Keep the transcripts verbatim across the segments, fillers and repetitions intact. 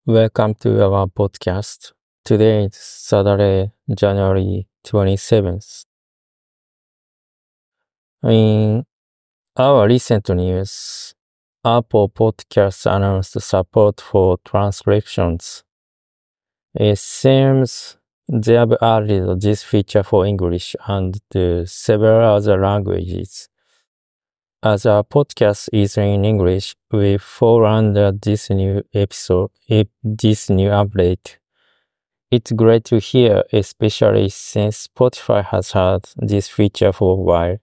Welcome to our podcast. Today is Saturday, January twenty-seventh. In our recent news, Apple Podcasts announced support for transcriptions. It seems they have added this feature for English and uh, several other languages. As our podcast is in English, we fall under this new episode, this new update. It's great to hear, especially since Spotify has had this feature for a while.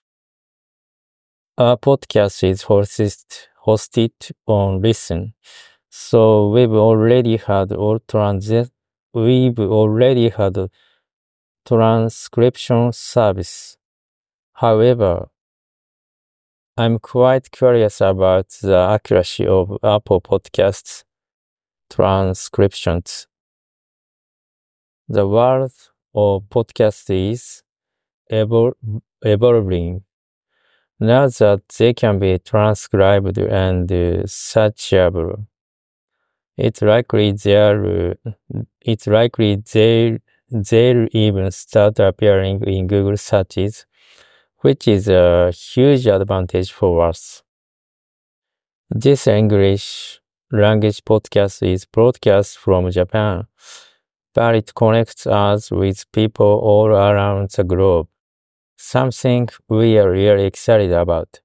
Our podcast is hosted, hosted on Listen, so we've already had all transit. We've already had a transcription service. However, I'm quite curious about the accuracy of Apple Podcasts transcriptions. The world of podcasts is evol- evolving. Now that they can be transcribed and uh, searchable, it's likely they'll, it's likely they'll, they'll even start appearing in Google searches, which is a huge advantage for us. This English language podcast is broadcast from Japan, but it connects us with people all around the globe, something we are really excited about.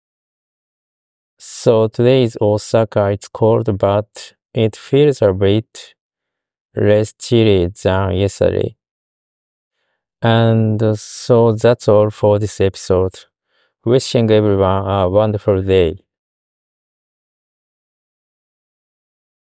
So today is Osaka. It's cold, but it feels a bit less chilly than yesterday. And so that's all for this episode. Wishing everyone a wonderful day.